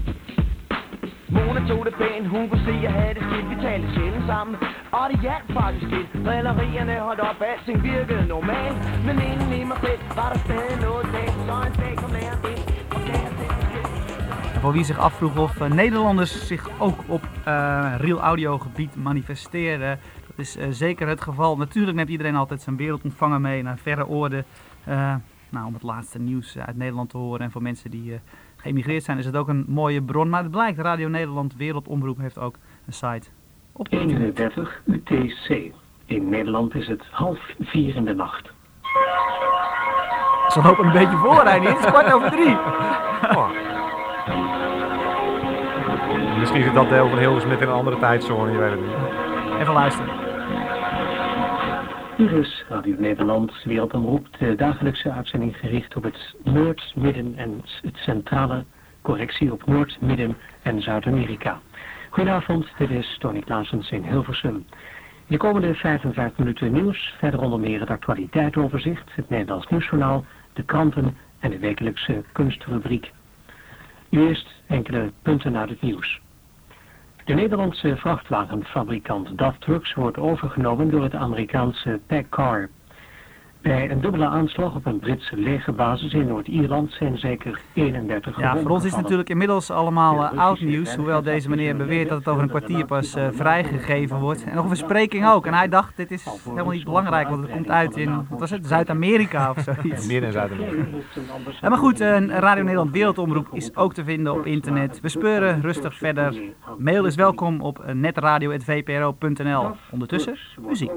Mona tog det pænt, hun kunne se, jeg havde det skidt, vi talte sjældent sammen. Og det hjalp faktisk lidt, drillerierne holdt op, alting virkede normalt. Men inden i mig selv var der stadig noget dag, så en dag kom læreren ind, og gav os det. Voor wie zich afvroeg of Nederlanders zich ook op real audio gebied manifesteren, dat is zeker het geval. Natuurlijk neemt iedereen altijd zijn wereldontvanger mee naar verre oorden. Om het laatste nieuws uit Nederland te horen. En voor mensen die geëmigreerd zijn is het ook een mooie bron. Maar het blijkt, Radio Nederland Wereldomroep heeft ook een site. 31 UTC. In Nederland is het 3:30 in de nacht. Ze lopen een beetje voor, Reinier. Het is 2:15. Oh. Misschien zit dat deel van Hilversum met in een andere tijdzone, je weet het niet. Even luisteren. Hier is Radio Nederland Wereldomroep, de dagelijkse uitzending gericht op het Noord-, Midden- en het centrale, correctie op Noord-, Midden- en Zuid-Amerika. Goedenavond, dit is Tony Klaasens in Hilversum. In de komende 55 minuten nieuws, verder onder meer het actualiteitenoverzicht, het Nederlands Nieuwsjournaal, de kranten en de wekelijkse kunstrubriek. Nu eerst enkele punten uit het nieuws. De Nederlandse vrachtwagenfabrikant DAF Trucks wordt overgenomen door het Amerikaanse PACCAR. Bij een dubbele aanslag op een Britse legerbasis in Noord-Ierland zijn zeker 31 gewonden Ja, voor ons is het natuurlijk inmiddels allemaal oud nieuws. Hoewel deze meneer beweert dat het over een kwartier pas vrijgegeven wordt. En nog een verspreking ook. En hij dacht, dit is helemaal niet belangrijk, want het komt uit in, wat was het, Zuid-Amerika of zoiets. Meer in Zuid-Amerika. Maar goed, Radio Nederland Wereldomroep is ook te vinden op internet. We speuren rustig verder. Mail is welkom op netradio@vpro.nl. Ondertussen, muziek.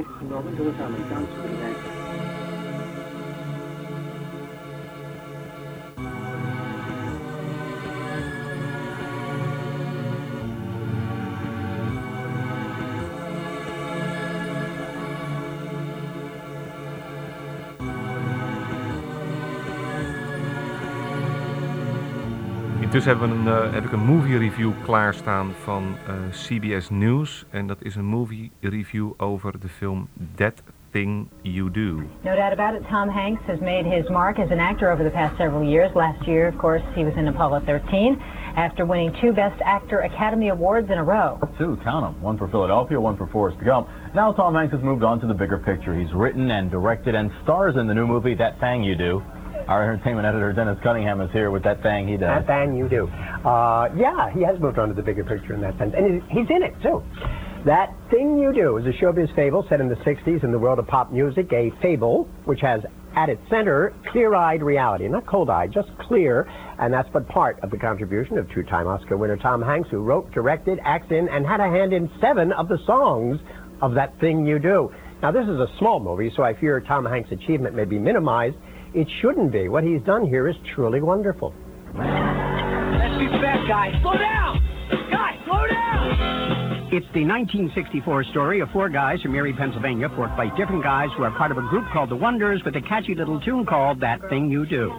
Intussen heb ik een movie review klaarstaan van CBS News. En dat is een movie review over de film That Thing You Do. No doubt about it, Tom Hanks has made his mark as an actor over the past several years. Last year, of course, he was in Apollo 13 after winning 2 Best Actor Academy Awards in a row. 2, count them. 1 for Philadelphia, 1 for Forrest Gump. Now Tom Hanks has moved on to the bigger picture. He's written and directed and stars in the new movie That Thing You Do. Our entertainment editor, Dennis Cunningham, is here with That Thing He Does. That Thing You Do. Yeah, he has moved on to the bigger picture in that sense. And he's in it, too. That Thing You Do is a showbiz fable set in the 60s in the world of pop music, a fable which has at its center clear-eyed reality. Not cold-eyed, just clear. And that's but part of the contribution of two-time Oscar winner Tom Hanks, who wrote, directed, acted in, and had a hand in 7 of the songs of That Thing You Do. Now, this is a small movie, so I fear Tom Hanks' achievement may be minimized. It shouldn't be. What he's done here is truly wonderful. Let's be fast, guys. Slow down! Guys, slow down! It's the 1964 story of 4 guys from Erie, Pennsylvania, 4 quite different guys who are part of a group called The Wonders with a catchy little tune called That Thing You Do.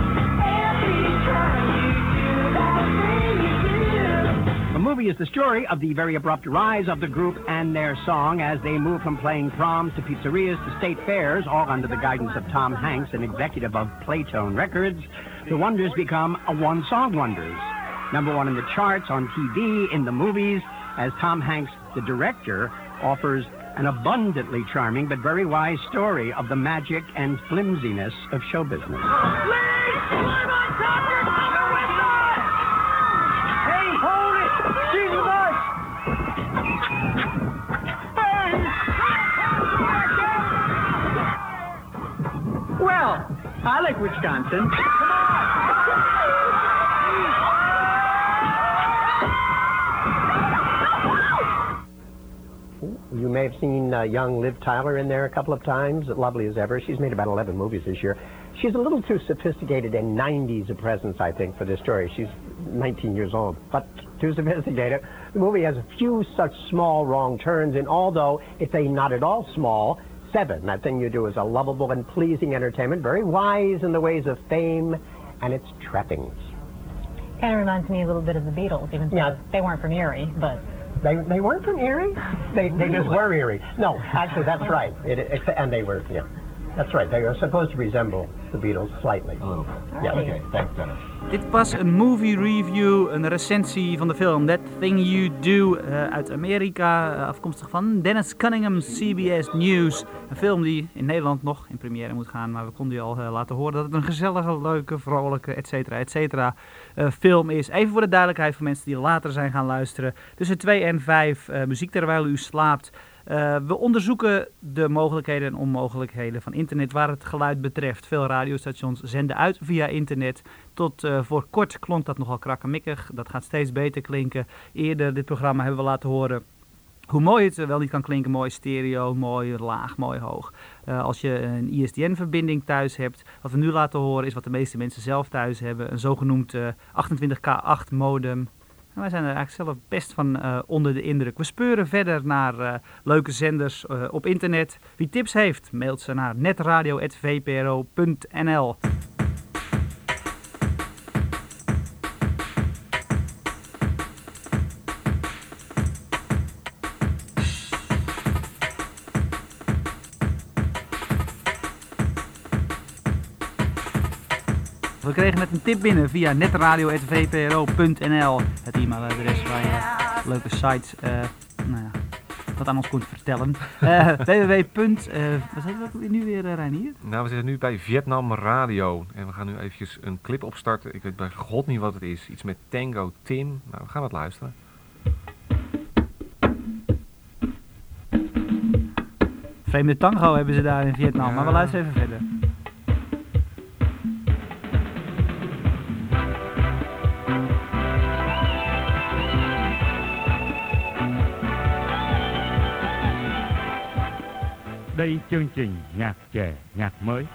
The movie is the story of the very abrupt rise of the group and their song as they move from playing proms to pizzerias to state fairs, all under the guidance of Tom Hanks, an executive of Playtone Records. The Wonders become a one-song wonders. Number 1 in the charts, on TV, in the movies, as Tom Hanks, the director, offers an abundantly charming but very wise story of the magic and flimsiness of show business. Well, I like Wisconsin. You may have seen young Liv Tyler in there a couple of times, lovely as ever. She's made about 11 movies this year. She's a little too sophisticated and 90s a presence, I think, for this story. She's 19 years old, but too sophisticated. The movie has a few such small wrong turns, and although it's a not at all small 7, That Thing You Do is a lovable and pleasing entertainment, very wise in the ways of fame and its trappings. Kind of reminds me a little bit of the Beatles, even though they weren't from Erie, but... They weren't from Erie? They just were Erie. No, actually, that's right. And they were, yeah. That's right. They are supposed to resemble the Beatles slightly. A little bit. Yeah, okay. Thanks, Dennis. Dit was een movie review, een recensie van de film That Thing You Do uit Amerika, afkomstig van Dennis Cunningham, CBS News. Een film die in Nederland nog in première moet gaan, maar we konden u al laten horen dat het een gezellige, leuke, vrolijke, et cetera film is. Even voor de duidelijkheid voor mensen die later zijn gaan luisteren. Tussen 2 en 5 muziek terwijl u slaapt. We onderzoeken de mogelijkheden en onmogelijkheden van internet waar het geluid betreft. Veel radiostations zenden uit via internet. Tot voor kort klonk dat nogal krakkemikkig. Dat gaat steeds beter klinken. Eerder dit programma hebben we laten horen hoe mooi het wel niet kan klinken. Mooi stereo, mooi laag, mooi hoog. Als je een ISDN-verbinding thuis hebt. Wat we nu laten horen is wat de meeste mensen zelf thuis hebben. Een zogenoemd 28K8 modem. Wij zijn er eigenlijk zelf best van onder de indruk. We speuren verder naar leuke zenders op internet. Wie tips heeft, mailt ze naar netradio@vpro.nl. We kregen net een tip binnen via netradio@vpro.nl. Het e-mailadres waar je leuke sites wat aan ons kunt vertellen. vertellen. www. Wat heet dat nu weer, Reinier? Nou, we zitten nu bij Vietnam Radio. En we gaan nu eventjes een clip opstarten. Ik weet bij god niet wat het is. Iets met Tango Tim. Nou, we gaan het luisteren. Vreemde tango hebben ze daar in Vietnam, ja. Maar we luisteren even verder. Đây chương trình nhạc trẻ, nhạc mới.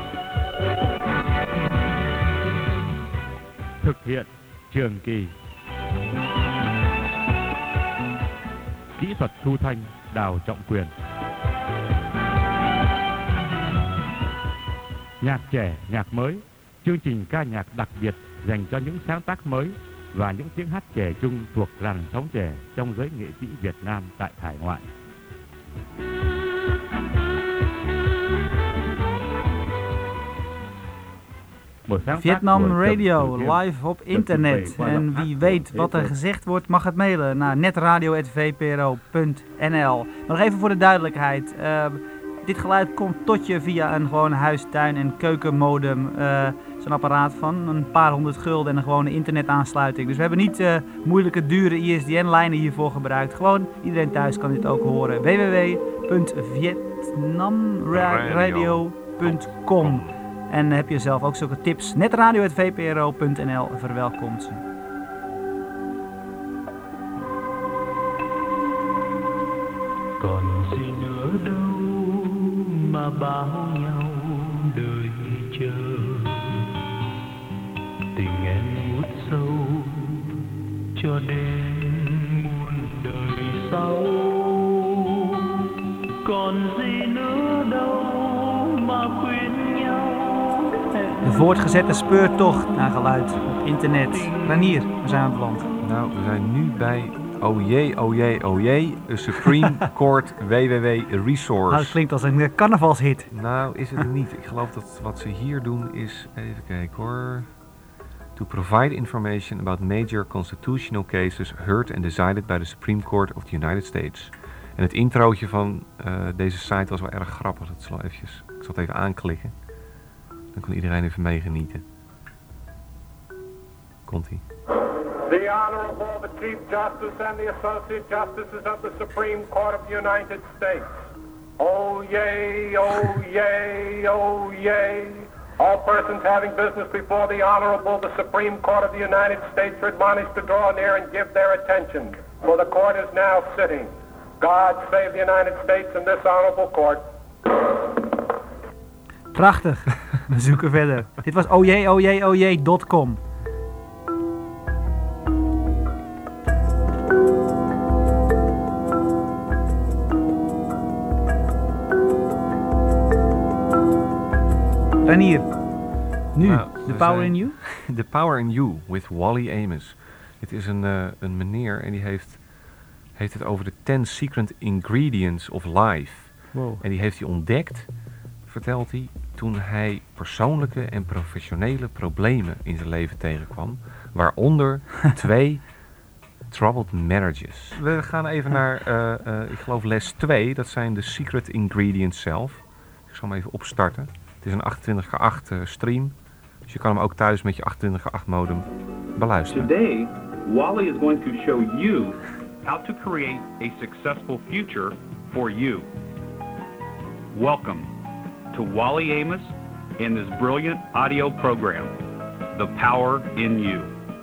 Thực hiện Trường Kỳ. Kỹ thuật thu thanh Đào Trọng Quyền. Nhạc trẻ, nhạc mới. Chương trình ca nhạc đặc biệt dành cho những sáng tác mới và những tiếng hát trẻ trung thuộc làn sóng trẻ trong giới nghệ sĩ Việt Nam tại hải ngoại. Vietnam Radio, live op internet. En wie weet wat er gezegd wordt, mag het mailen naar netradio@vpro.nl. Nog even voor de duidelijkheid. Dit geluid komt tot je via een gewoon huis-, tuin- en keukenmodem. Zo'n apparaat van een paar honderd gulden en een gewone internetaansluiting. Dus we hebben niet moeilijke, dure ISDN-lijnen hiervoor gebruikt. Gewoon, iedereen thuis kan dit ook horen. www.vietnamradio.com. En heb je zelf ook zulke tips? netradio@vpro.nl verwelkomt ze. Còn gì nữa đâu mà bao nhau đời chờ, tình em ngút sâu cho đến muôn đời sau. Còn gì nữa đâu mà khuyên nhau. De voortgezette speurtocht naar geluid op internet. Ranier, waar zijn we beland? Nou, we zijn nu bij oh jee, een Supreme Court WWW Resource. Nou, het klinkt als een carnavalshit. Nou, is het niet. Ik geloof dat wat ze hier doen is, even kijken hoor. To provide information about major constitutional cases heard and decided by the Supreme Court of the United States. En het introotje van deze site was wel erg grappig. Ik zal het even aanklikken. Dan kan iedereen even meegenieten. Komt-ie. The Honorable, the Chief Justice and the Associate Justices of the Supreme Court of the United States. Oh yay, oh yay, oh yay. All persons having business before the Honorable, the Supreme Court of the United States are admonished to draw near and give their attention, for the court is now sitting. God save the United States and this Honorable Court. Prachtig. We zoeken verder. Dit was ohjee.com. Ranier, nu, The Power in You? The Power in You with Wally Amos. Dit is een meneer en die heeft het over de 10 secret ingredients of life. Wow. En die heeft hij ontdekt, vertelt hij, toen hij persoonlijke en professionele problemen in zijn leven tegenkwam. Waaronder 2 troubled marriages. We gaan even naar, ik geloof les 2. Dat zijn de secret ingredients zelf. Ik zal hem even opstarten. Het is een 28x8 stream. Dus je kan hem ook thuis met je 28x8 modem beluisteren. Today, Wally is going to show you how to create a successful future for you. Welcome to Wally Amos in this brilliant audio program, The Power in You.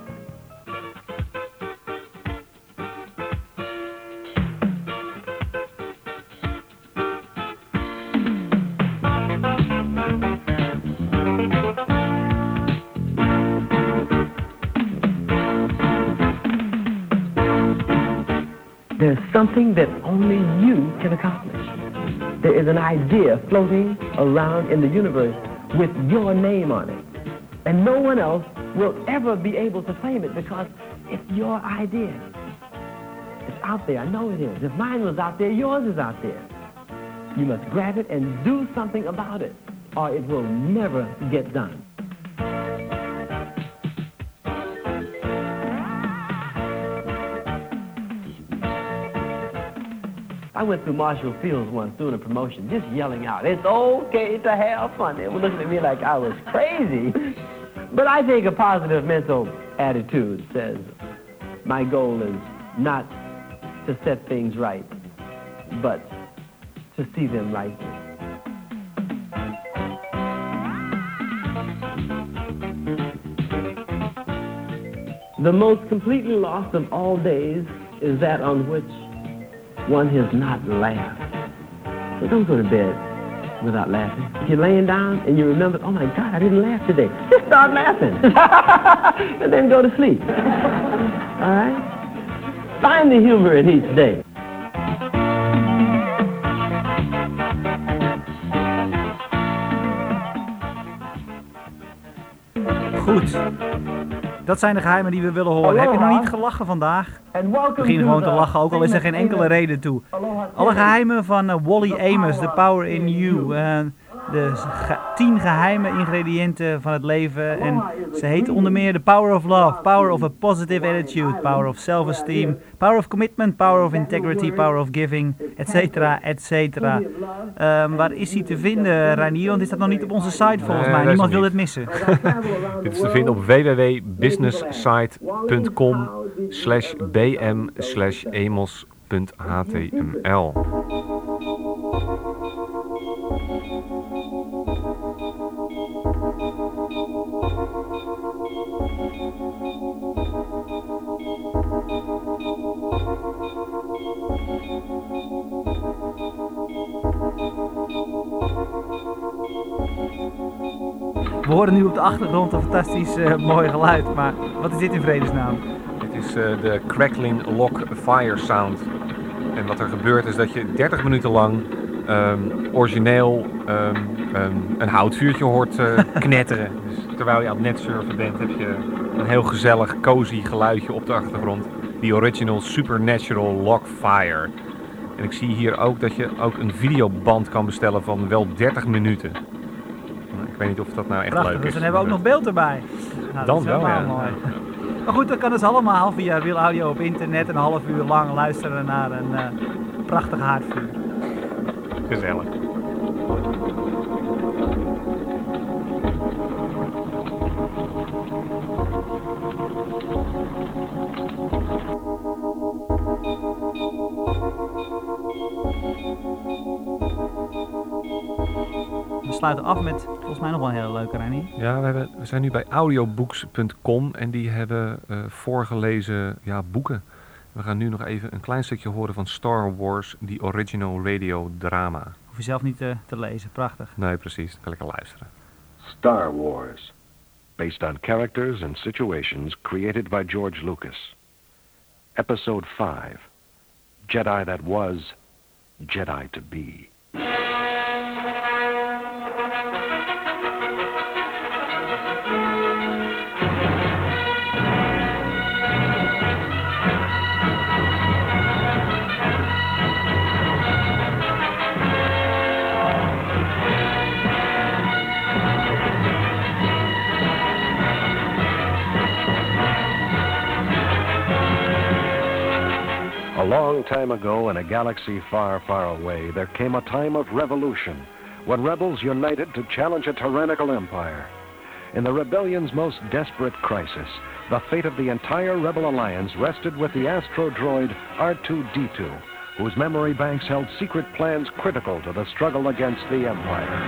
There's something that only you can accomplish. There is an idea floating around in the universe with your name on it. And no one else will ever be able to claim it because it's your idea. It's out there. I know it is. If mine was out there, yours is out there. You must grab it and do something about it, or it will never get done. I went through Marshall Fields once doing a promotion, just yelling out, "It's okay to have fun." They were looking at me like I was crazy. But I think a positive mental attitude says, my goal is not to set things right, but to see them right. The most completely lost of all days is that on which one has not laughed. So don't go to bed without laughing. If you're laying down and you remember, oh my God, I didn't laugh today, just start laughing. And then go to sleep. All right? Find the humor in each day. Goed. Dat zijn de geheimen die we willen horen. Heb je nog niet gelachen vandaag? Begin gewoon te lachen, ook al is er geen enkele reden toe. Alle geheimen van Wally Amos, The Power in You. De 10 geheime ingrediënten van het leven. En ze heet onder meer The Power of Love, Power of a Positive Attitude, Power of Self-Esteem, Power of Commitment, Power of Integrity, Power of Giving, etcetera, etcetera. Waar is hij te vinden, Reinier? Want is dat nog niet op onze site volgens mij? Niemand wil dit missen. Dit is te vinden op www.businesssite.com/bm/emos.html. We horen nu op de achtergrond een fantastisch mooi geluid, maar wat is dit in vredesnaam? Dit is de Crackling Log Fire Sound. En wat er gebeurt is dat je 30 minuten lang origineel een houtvuurtje hoort knetteren. Dus terwijl je aan het netsurfen bent, heb je een heel gezellig, cozy geluidje op de achtergrond. Die original Supernatural Log Fire. En ik zie hier ook dat je ook een videoband kan bestellen van wel 30 minuten. Ik weet niet of dat nou echt prachtig, leuk is. Dus dan hebben we ook nog beeld erbij. Nou, dan wel, ja. Mooi. Maar goed, dat kan dus allemaal via Real Audio op internet. Een half uur lang luisteren naar een prachtig haardvuur. Gezellig. We sluiten af met volgens mij nog wel een hele leuke, Reinier. Ja, we zijn nu bij audiobooks.com en die hebben voorgelezen boeken. We gaan nu nog even een klein stukje horen van Star Wars, The Original Radio Drama. Hoef je zelf niet te lezen, prachtig. Nee, precies. Dan kan lekker luisteren. Star Wars, based on characters and situations created by George Lucas. Episode 5, Jedi That Was, Jedi To Be. A long time ago, in a galaxy far, far away, there came a time of revolution, when rebels united to challenge a tyrannical empire. In the rebellion's most desperate crisis, the fate of the entire rebel alliance rested with the astro droid R2-D2, whose memory banks held secret plans critical to the struggle against the empire.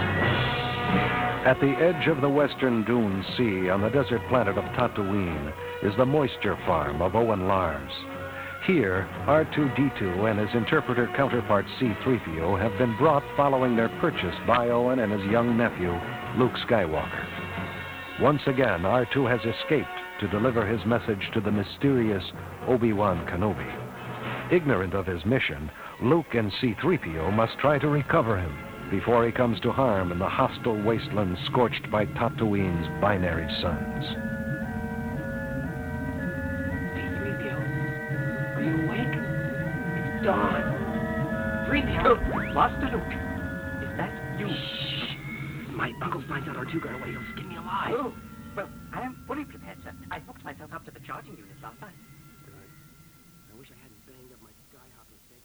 At the edge of the western dune sea on the desert planet of Tatooine is the moisture farm of Owen Lars. Here, R2-D2 and his interpreter counterpart C-3PO have been brought following their purchase by Owen and his young nephew, Luke Skywalker. Once again, R2 has escaped to deliver his message to the mysterious Obi-Wan Kenobi. Ignorant of his mission, Luke and C-3PO must try to recover him before he comes to harm in the hostile wasteland scorched by Tatooine's binary suns. Dawn. 3PO. Master Luke. Is that you? Shh. My uncle finds out our two got away, he'll skin me alive. Oh, well, I am fully prepared, sir. I hooked myself up to the charging unit last night. I wish I hadn't banged up my skyhopper.